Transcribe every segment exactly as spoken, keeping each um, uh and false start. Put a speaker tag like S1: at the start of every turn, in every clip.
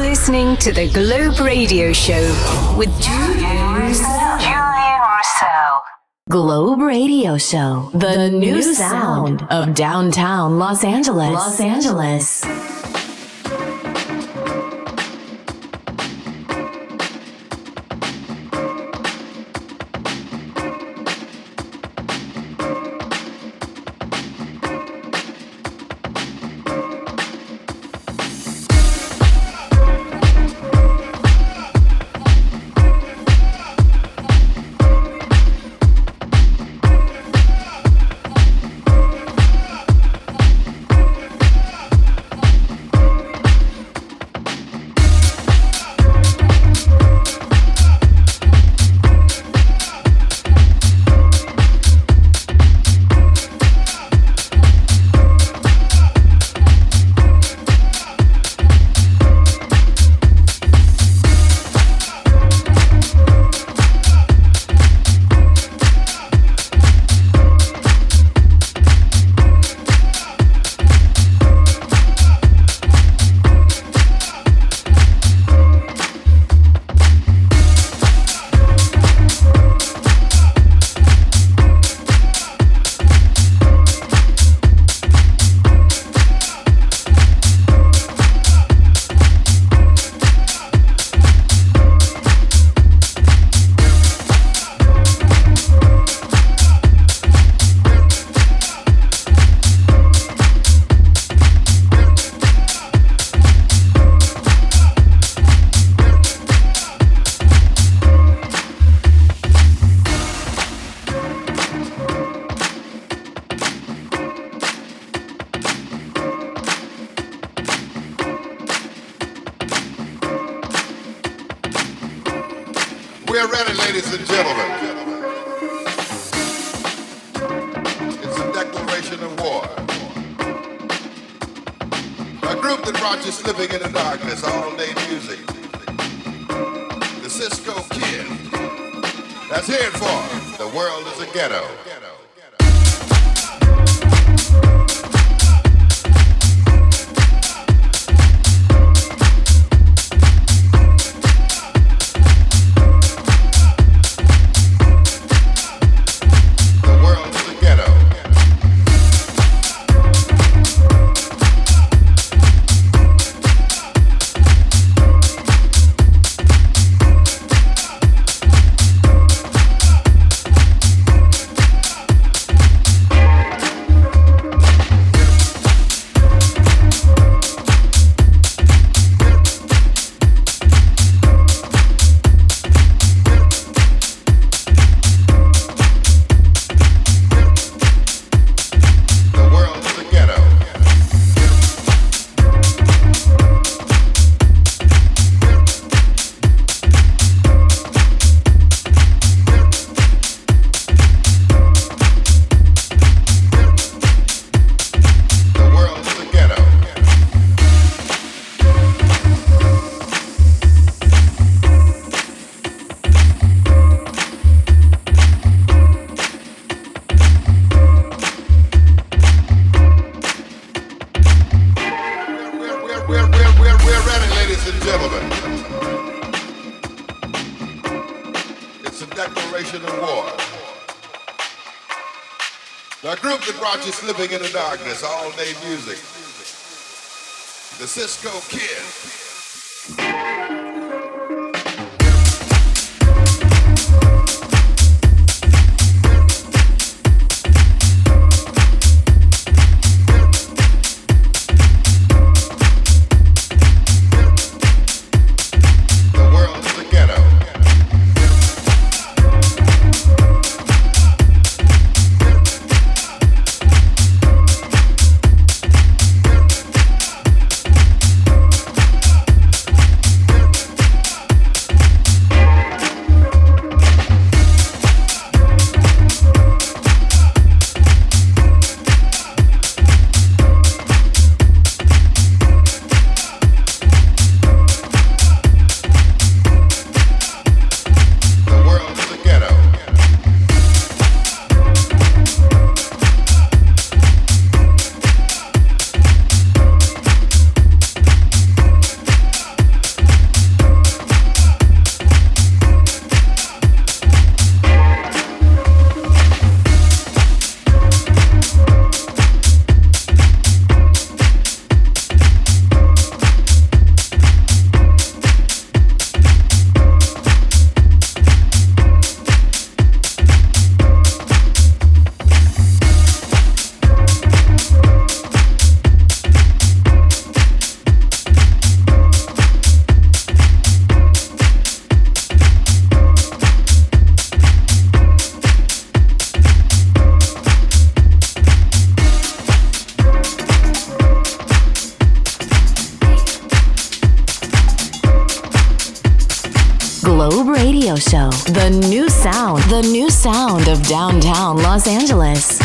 S1: listening to the Globe Radio Show with Julian Russell. Julian Russell. Globe Radio Show, the, the new, new sound of downtown Los Angeles. Los Angeles.
S2: We're ready, ladies and gentlemen. It's a declaration of war. A group that brought you slipping into darkness, all-day music. The Cisco Kid. That's here for The World is a Ghetto. Slipping into darkness, all-day music. The Cisco Kid.
S1: Globe Radio Show. The new sound. The new sound of downtown Los Angeles.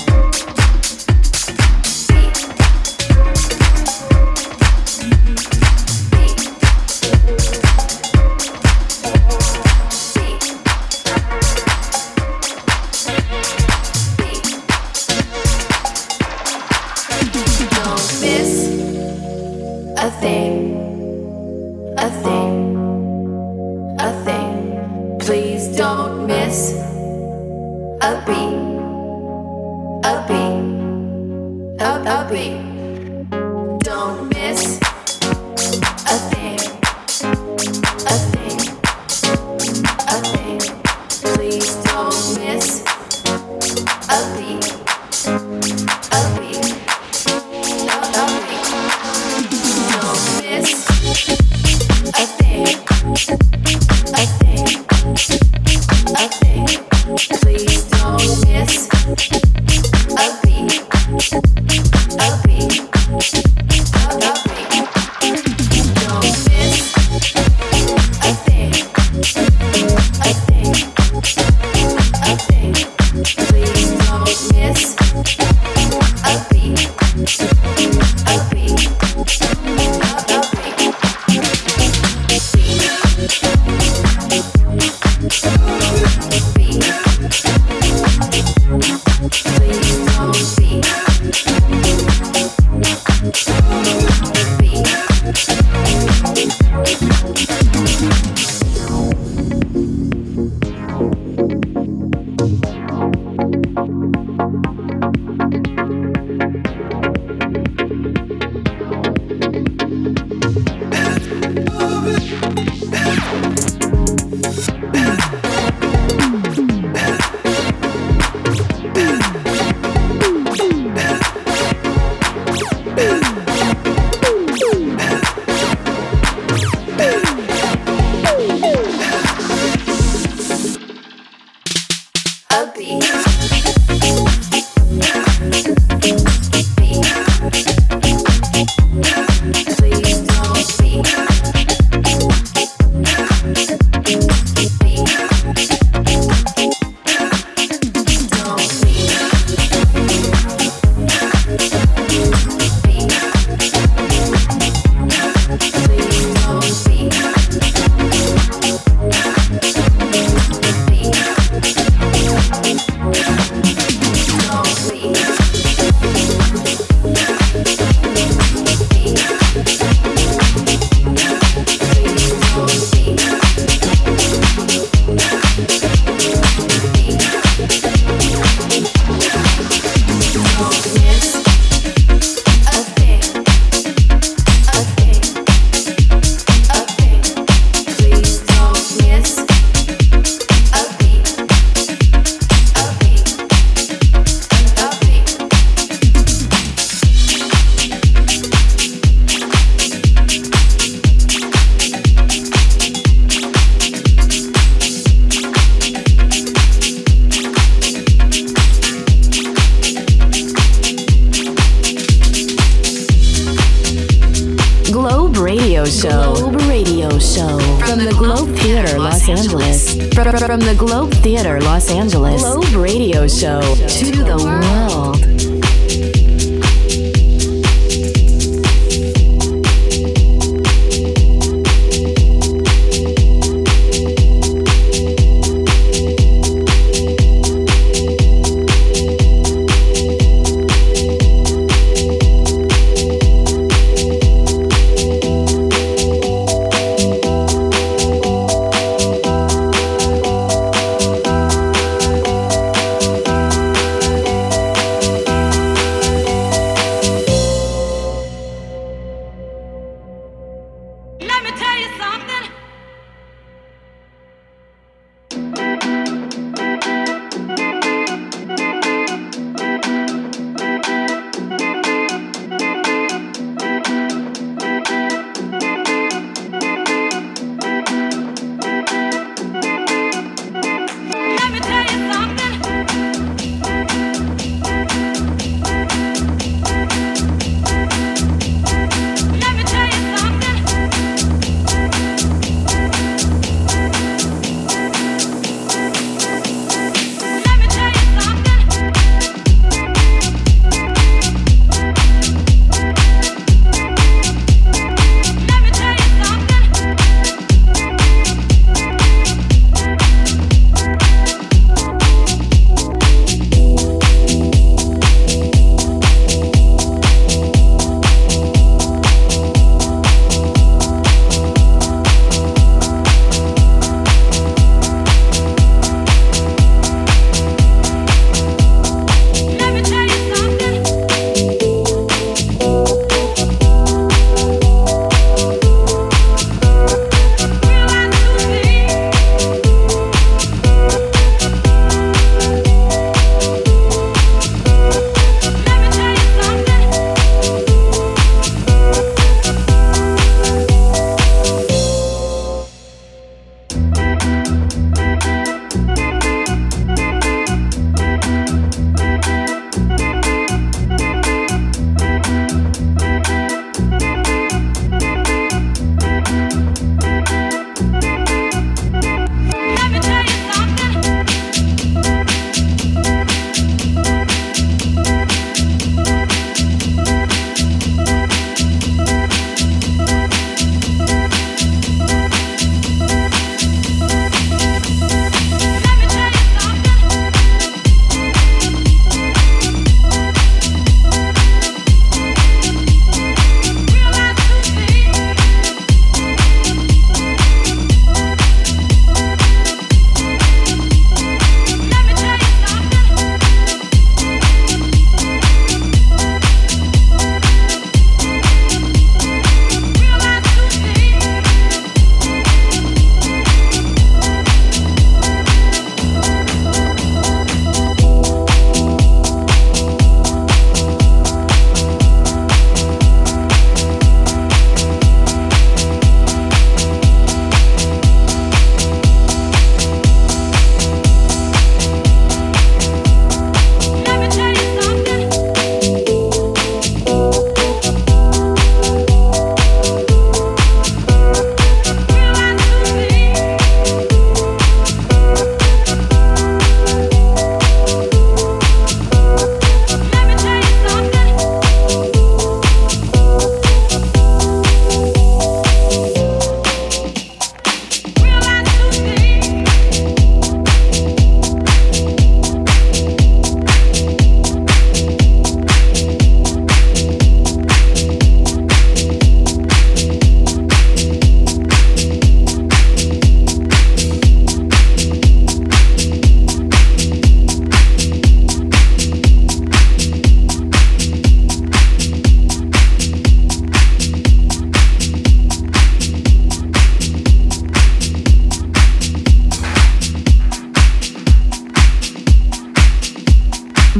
S1: From the Globe Theater, Los Angeles, Globe Radio Show to the world.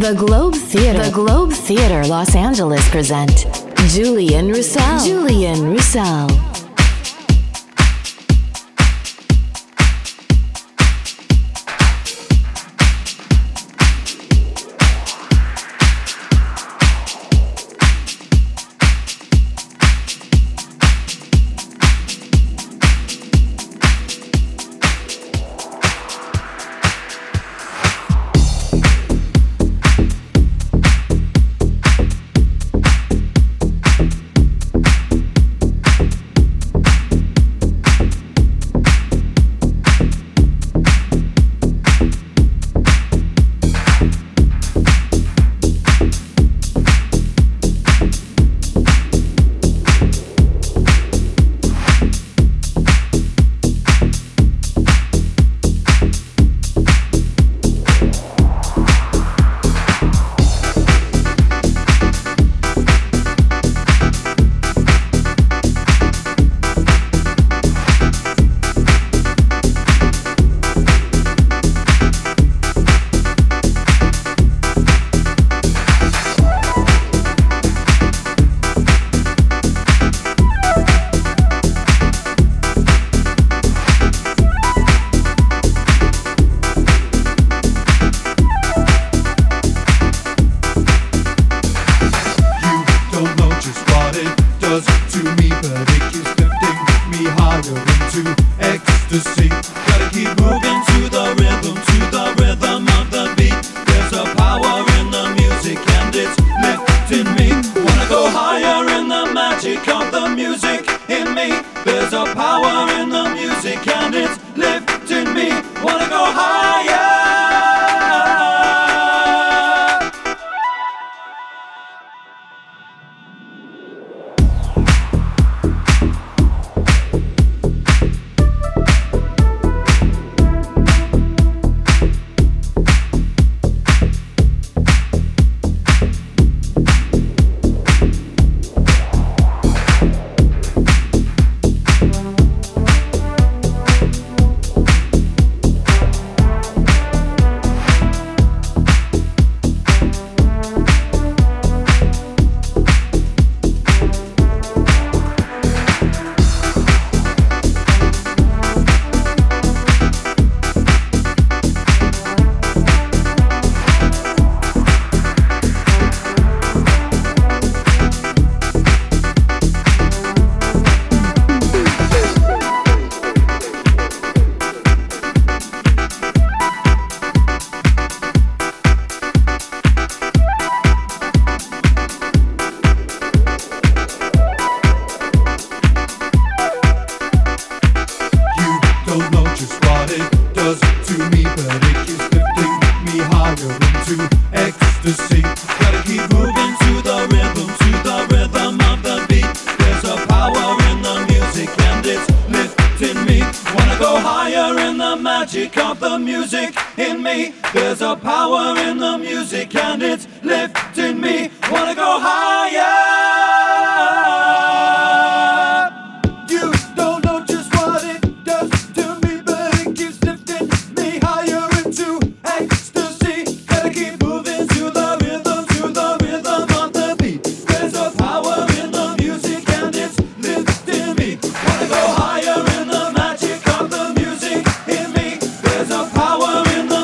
S1: The Globe Theater, the Globe Theater Los Angeles present Julian Roussel. Julian Roussel.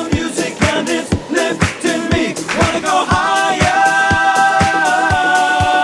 S3: Wanna go higher?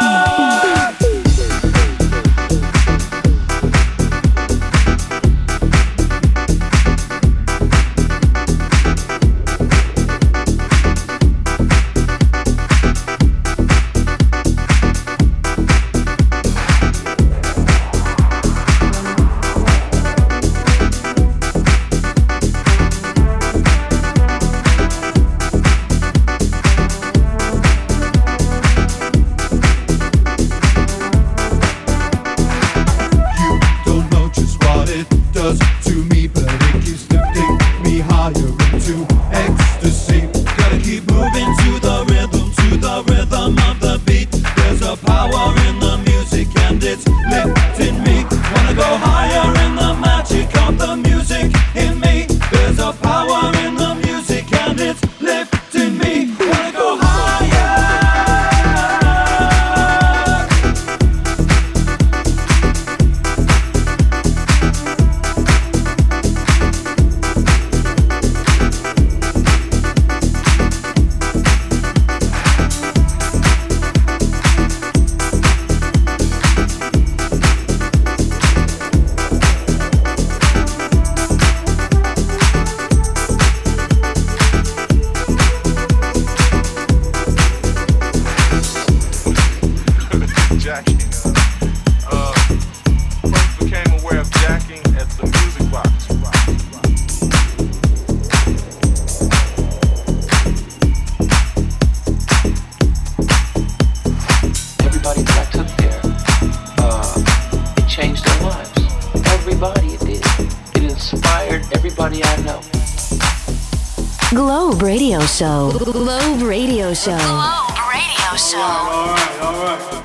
S3: inspired everybody I know.
S1: Globe Radio Show. Globe Radio Show. Globe Radio Show.
S4: All right, all right, all right.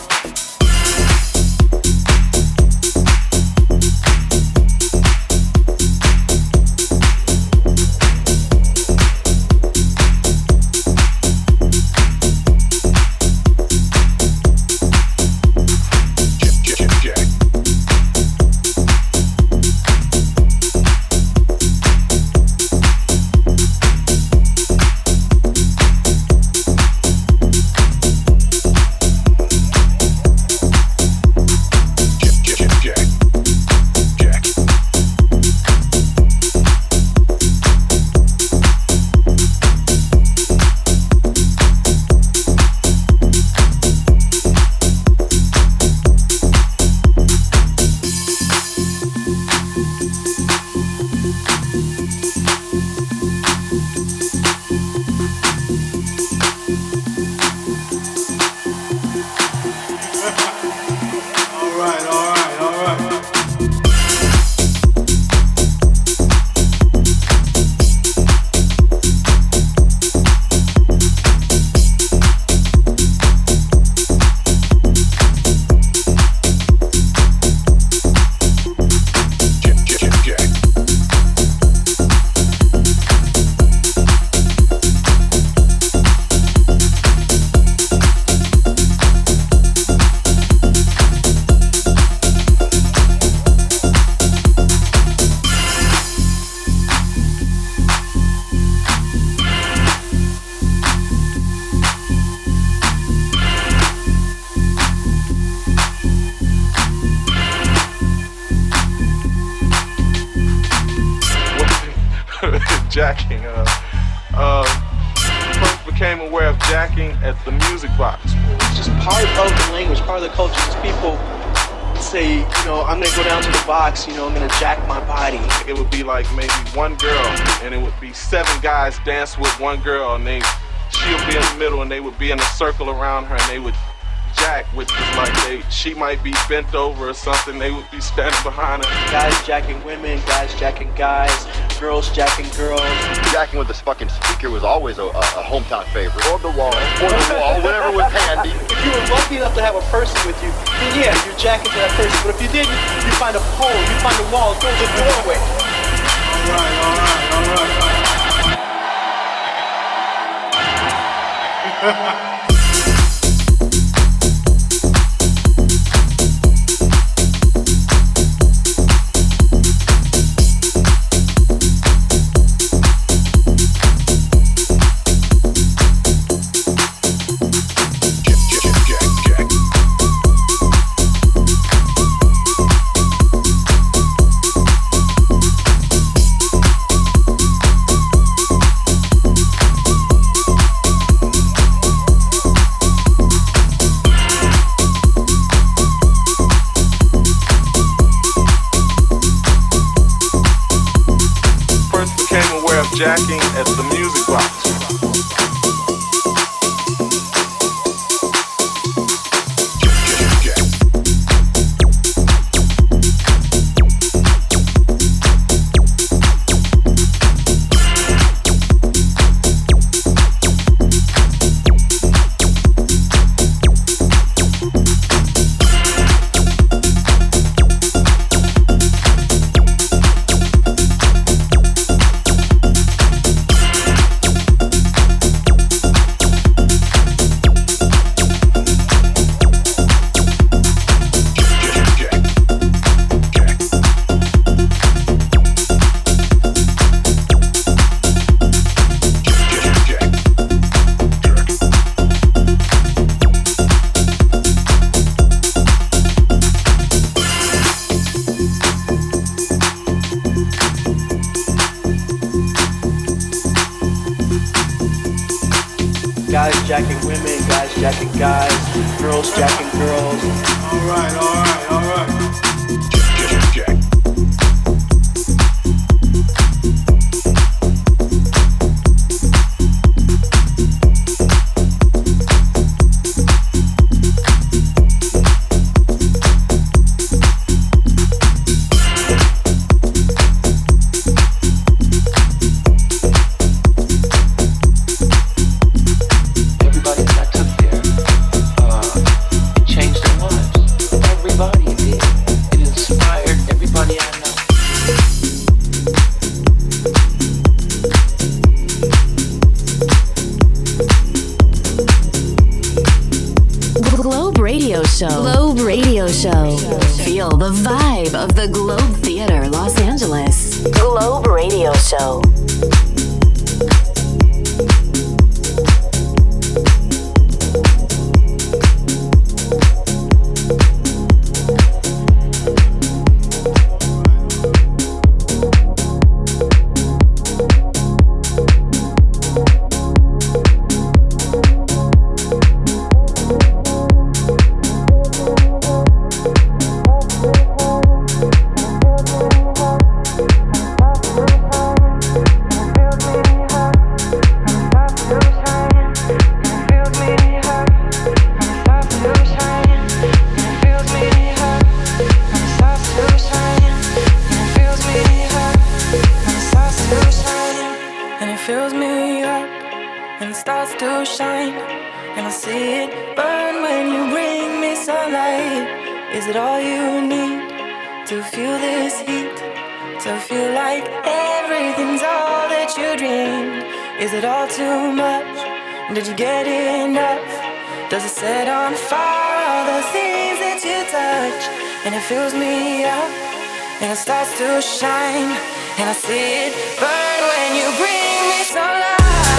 S5: Jacking. Uh, uh, first became aware of jacking at the Music Box.
S3: It's just part of the language, part of the culture. Just people say, you know, I'm gonna go down to the box, you know, I'm gonna jack my body.
S5: It would be like maybe one girl, and it would be seven guys dance with one girl, and they, she'll be in the middle, and they would be in a circle around her, and they would jack, which is like they, she might be bent over or something, they would be standing behind her.
S3: Guys jacking women, guys jacking guys, girls jacking girls.
S6: Jacking with this fucking speaker was always a, a, a hometown favorite. Or the wall, or the wall, whatever was handy.
S3: If you were lucky enough to have a person with you, then yeah, you're jacking to that person. But if you didn't, you find a pole, you find a wall, go to the doorway.
S4: All right, all right, all right, all right.
S5: Jacking at the Music Box.
S3: Guys jacking women, guys jacking guys, girls jacking girls.
S4: All right, all right, all right.
S1: Show. Feel the vibe of the Globe Theater, Los Angeles. Globe Radio Show.
S7: Did you get enough? Does it set on fire all the things that you touch? And it fills me up, and it starts to shine, and I see it burn when you bring me sunlight.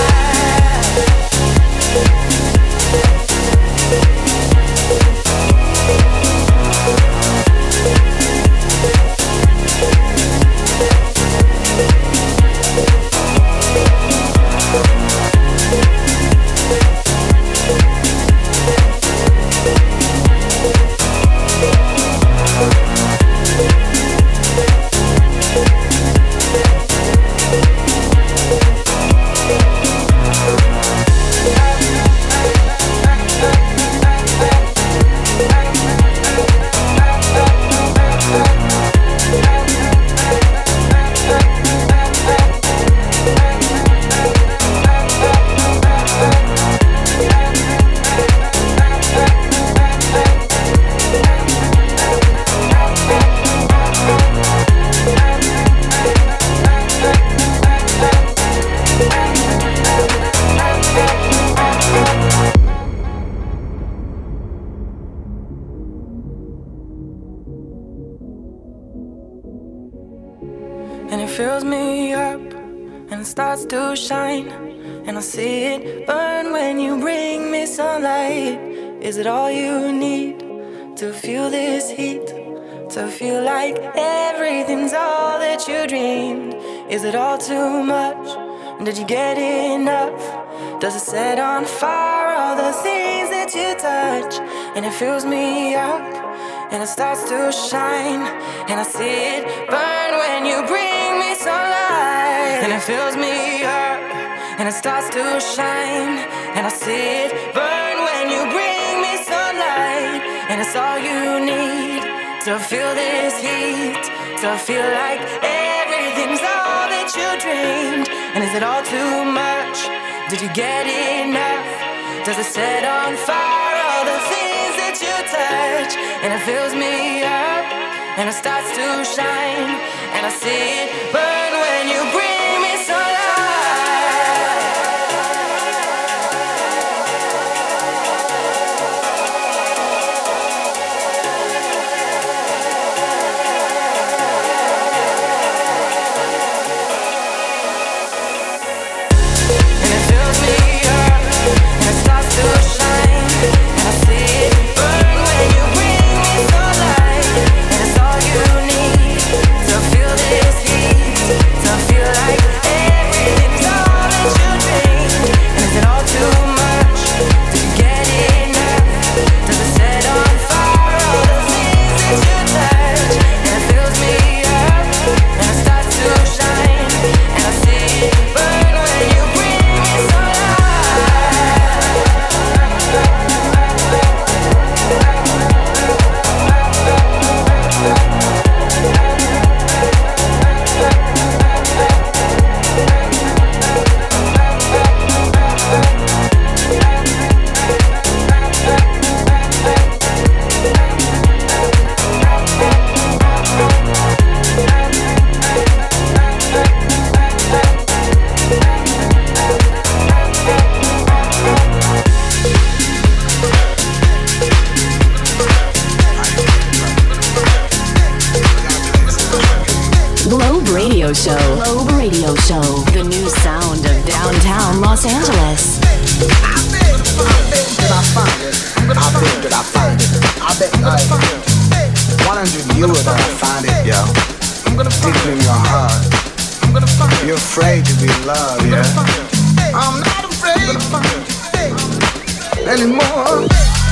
S7: Starts to shine, and I see it burn when you bring me sunlight. Is it all you need to feel this heat? To feel like everything's all that you dreamed? Is it all too much? Did you get enough? Does it set on fire all the things that you touch? And it fills me up, and it starts to shine, and I see it burn when you bring me sunlight. And it fills me up, and it starts to shine, and I see it burn when you bring me sunlight. And it's all you need to feel this heat, to feel like everything's all that you dreamed. And is it all too much? Did you get enough? Does it set on fire all the things that you touch? And it fills me up, and it starts to shine, and I see it burn when you bring me sunlight. And it fills me up, and it starts to shine, and I see it burn when you bring me sunlight. And it's all you need to feel this heat.
S1: Globe Radio Show. Globe Radio Show. The new sound of downtown Los Angeles.
S8: I bet that I find it. I bet that I find it. I bet like one hundred euro that I find it, yo. Deep in your heart. You're afraid to be loved, yeah. I'm not afraid anymore.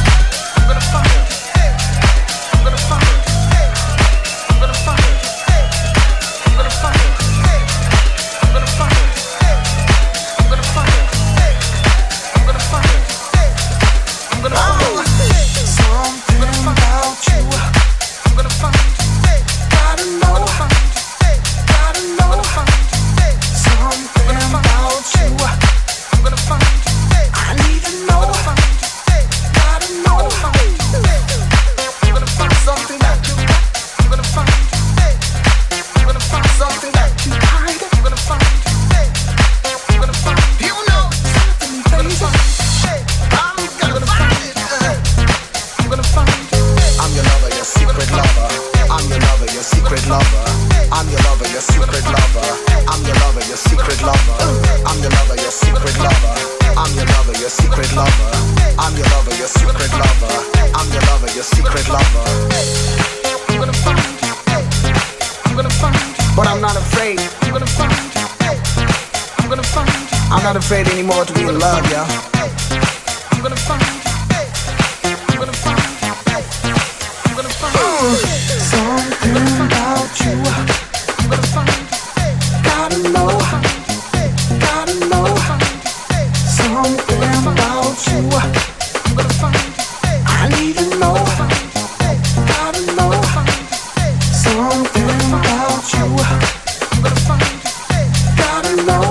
S8: I'm not afraid anymore to be in love, yo. I'm gonna find, I'm gonna find, I'm gonna find uh, something about you. I'm gonna find, gotta know, gotta know something about you. I'm gonna find, I need to know, gotta know something about you. I'm gonna find, gotta know.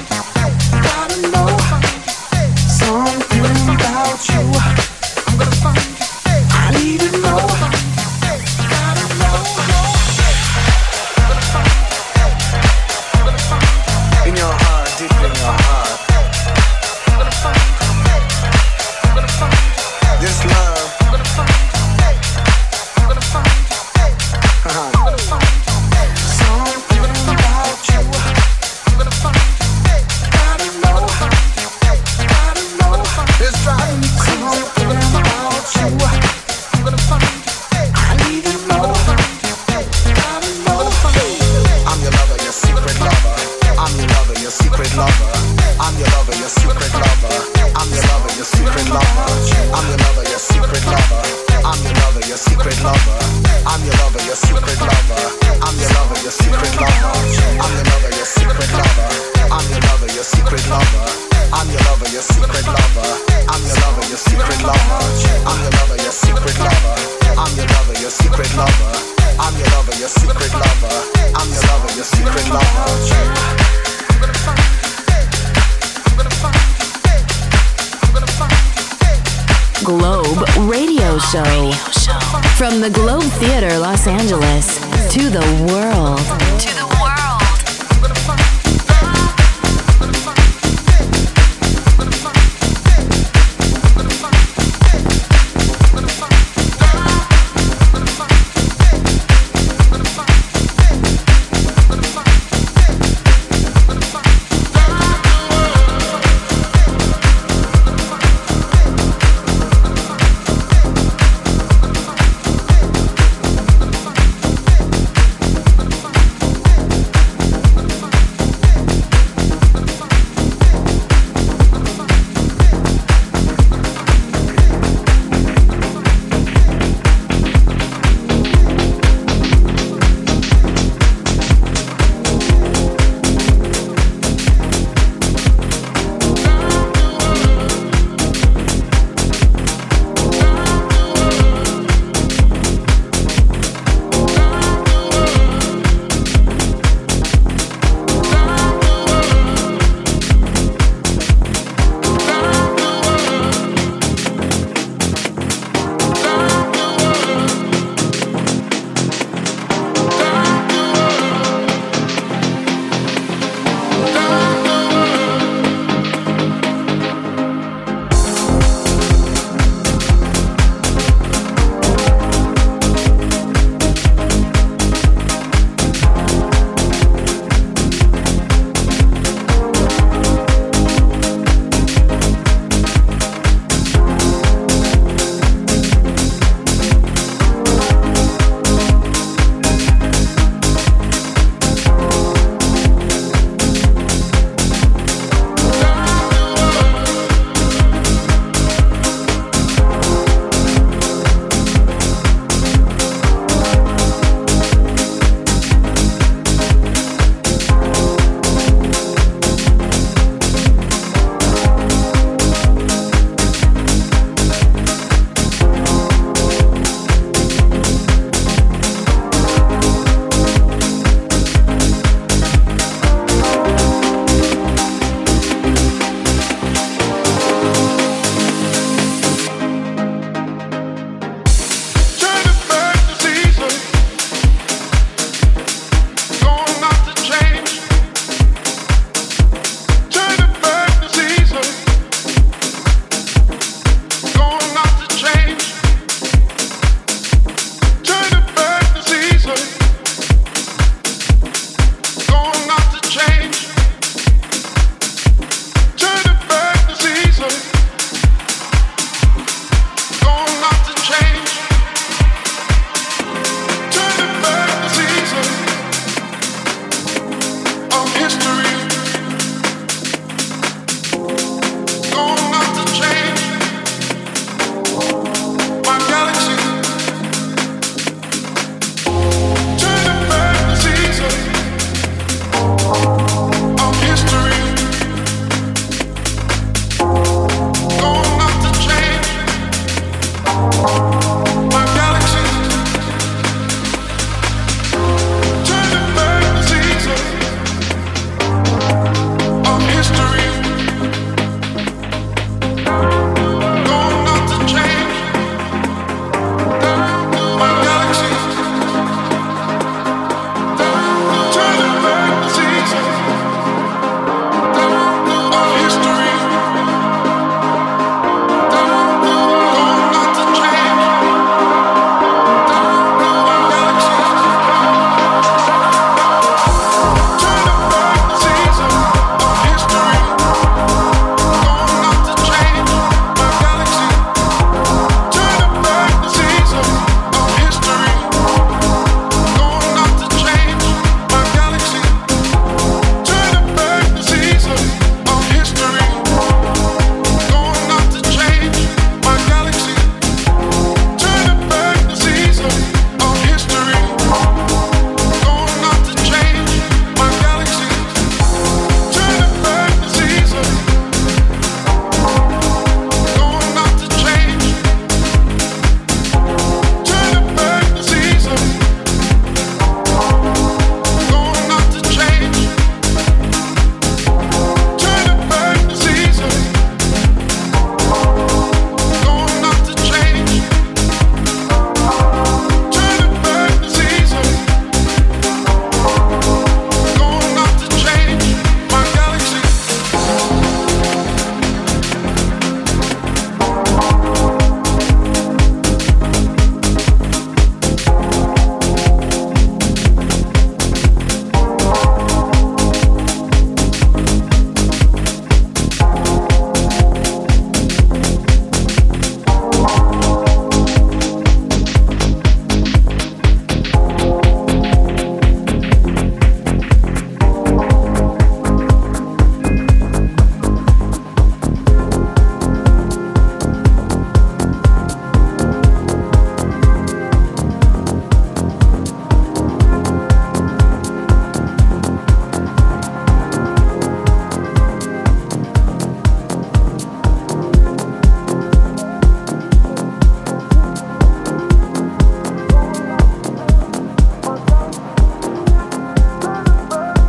S1: Globe Radio Show. From the Globe Theater, Los Angeles, to the world. To the world.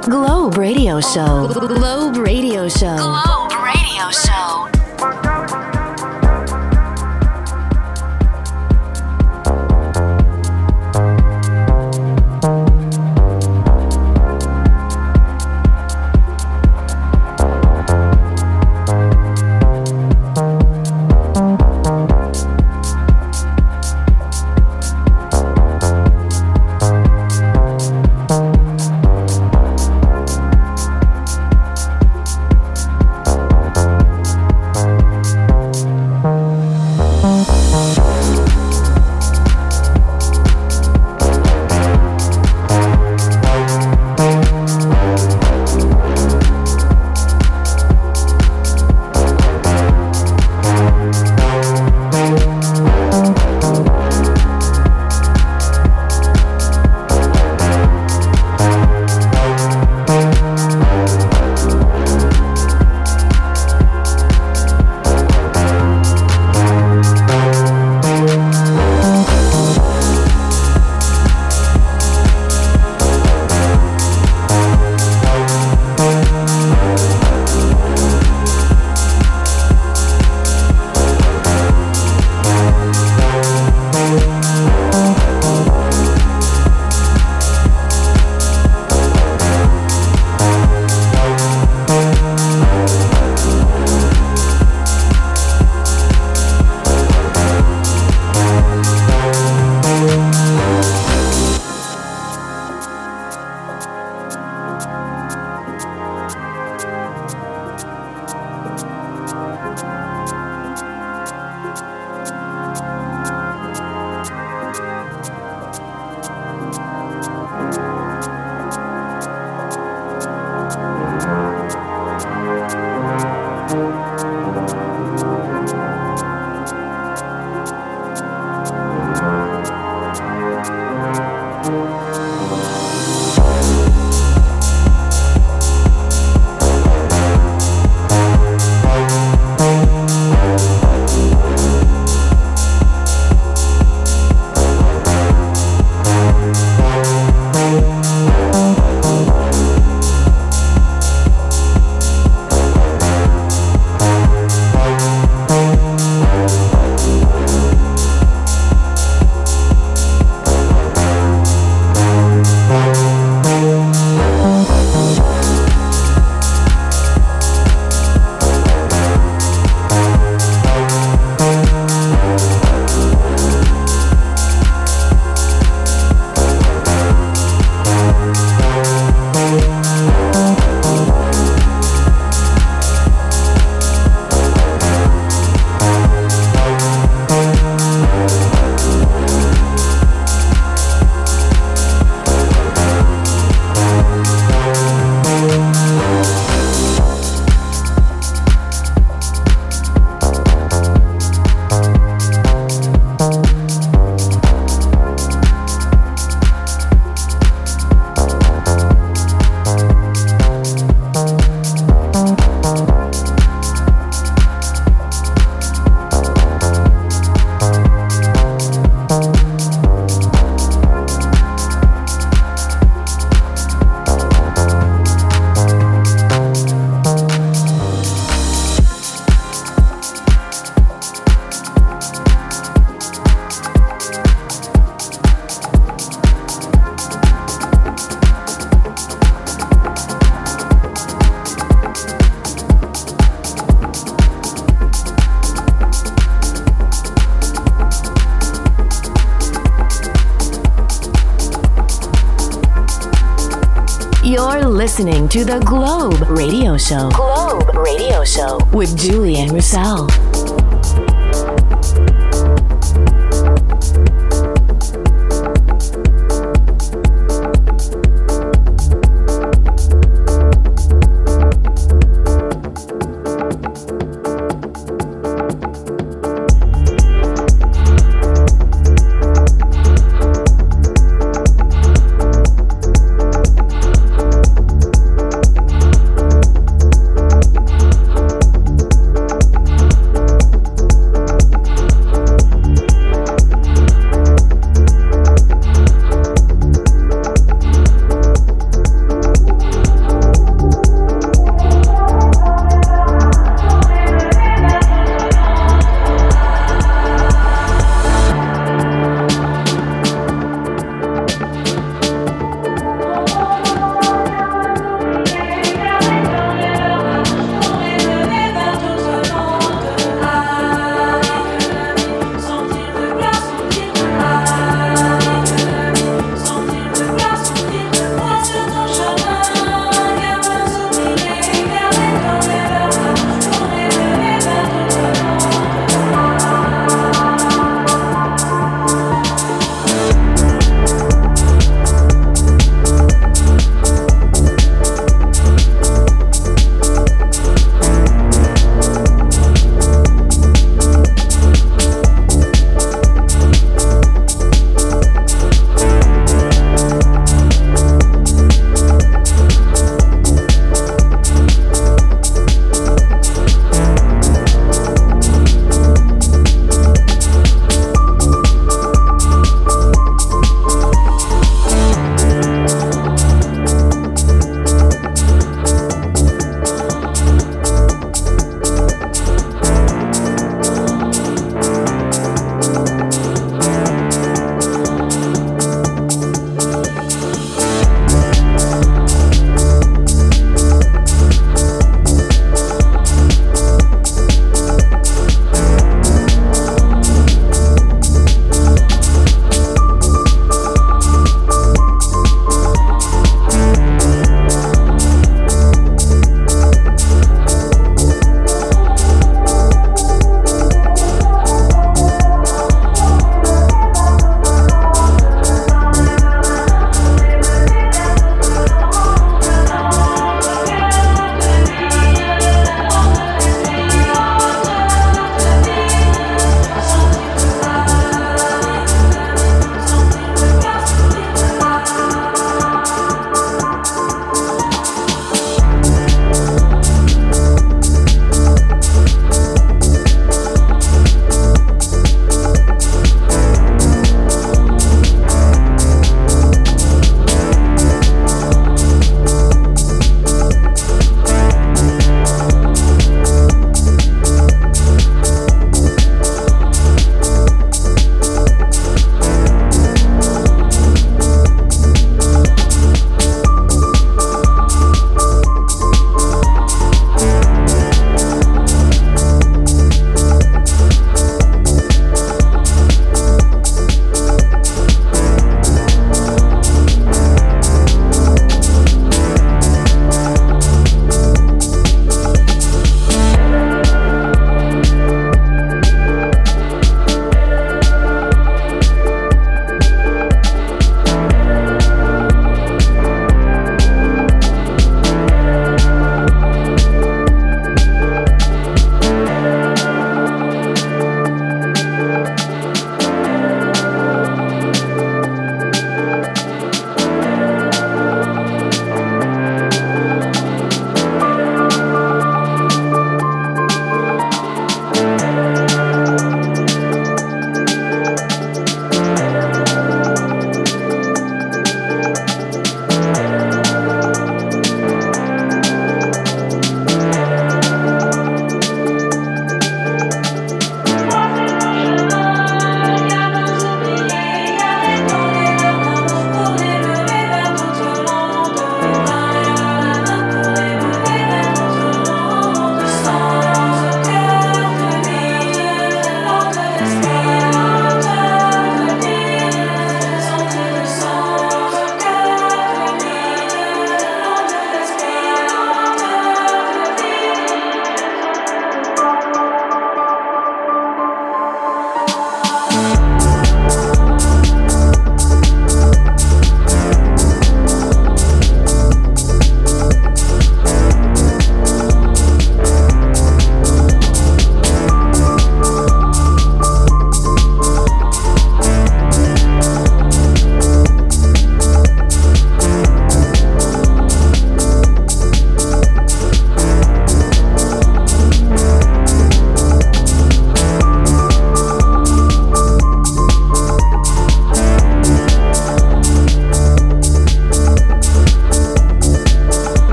S1: Globe Radio Show. Globe Radio Show. Globe Radio Show. You're listening to the Globe Radio Show. Globe Radio Show with Julian Russell.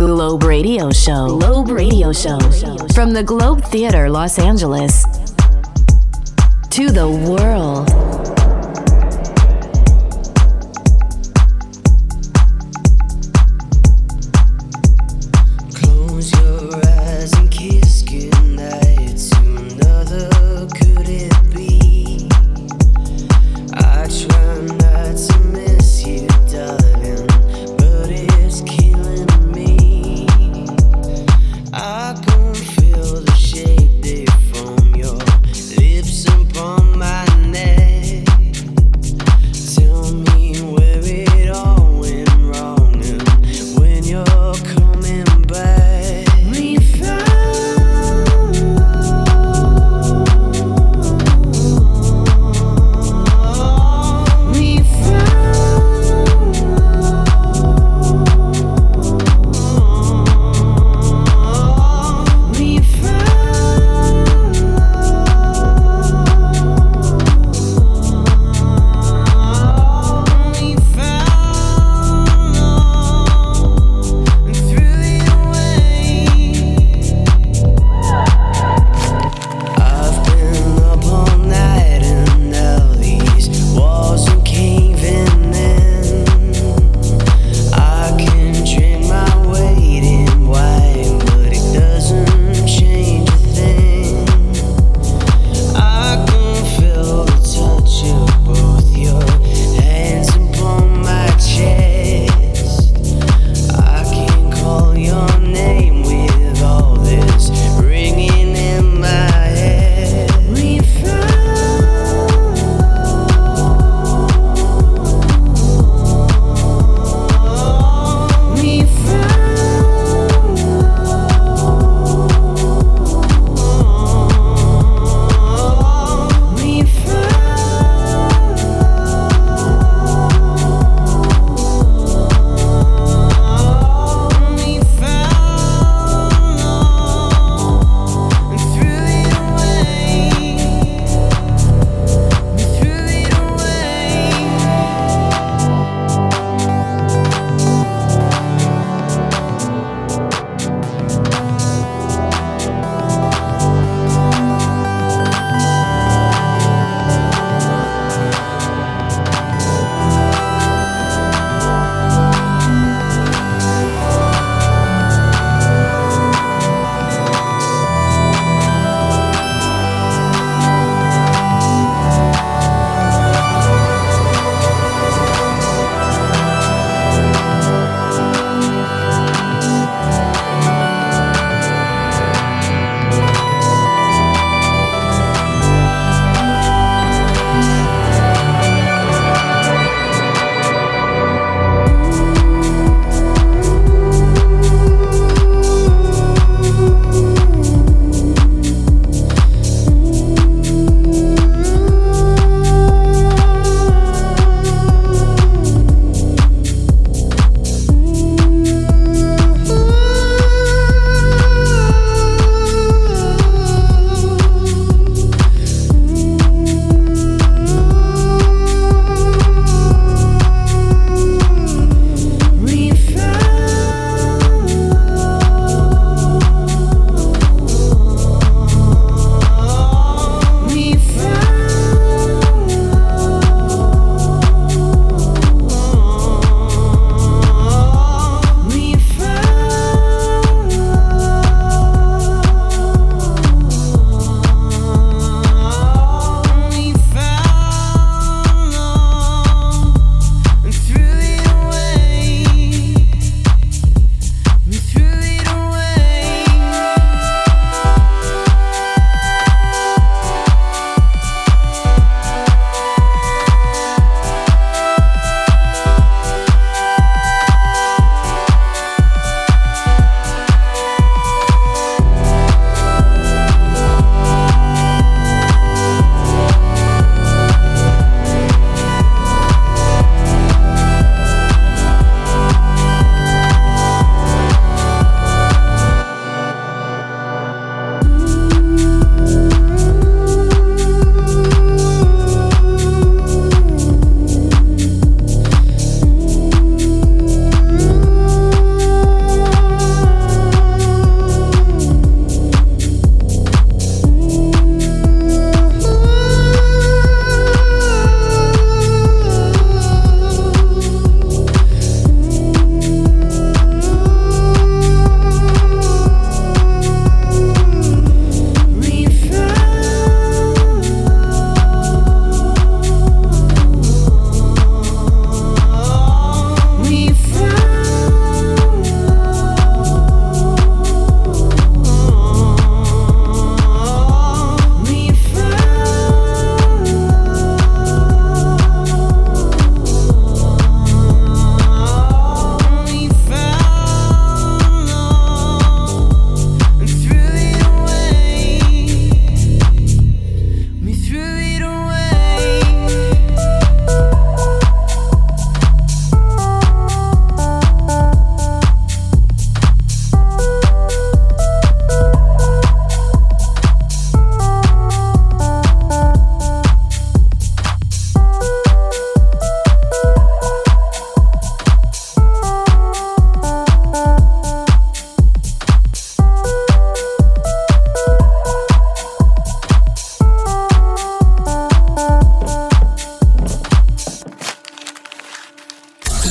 S1: Globe Radio Show. Globe Radio Show. From the Globe Theater, Los Angeles, to the world.
S9: Close your eyes and kiss goodnight to another. Could it be? I try not to miss you, darling, but it's killing me. I can feel the shake they from your lips upon my neck.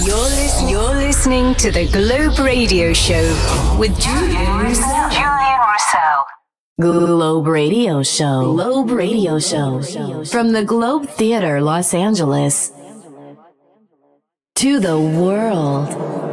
S1: You're, lis- you're listening to the Globe Radio Show with Julian Russell. Julian Russell. Globe Radio Show. Globe Radio Show. From the Globe Theater, Los Angeles, to the world.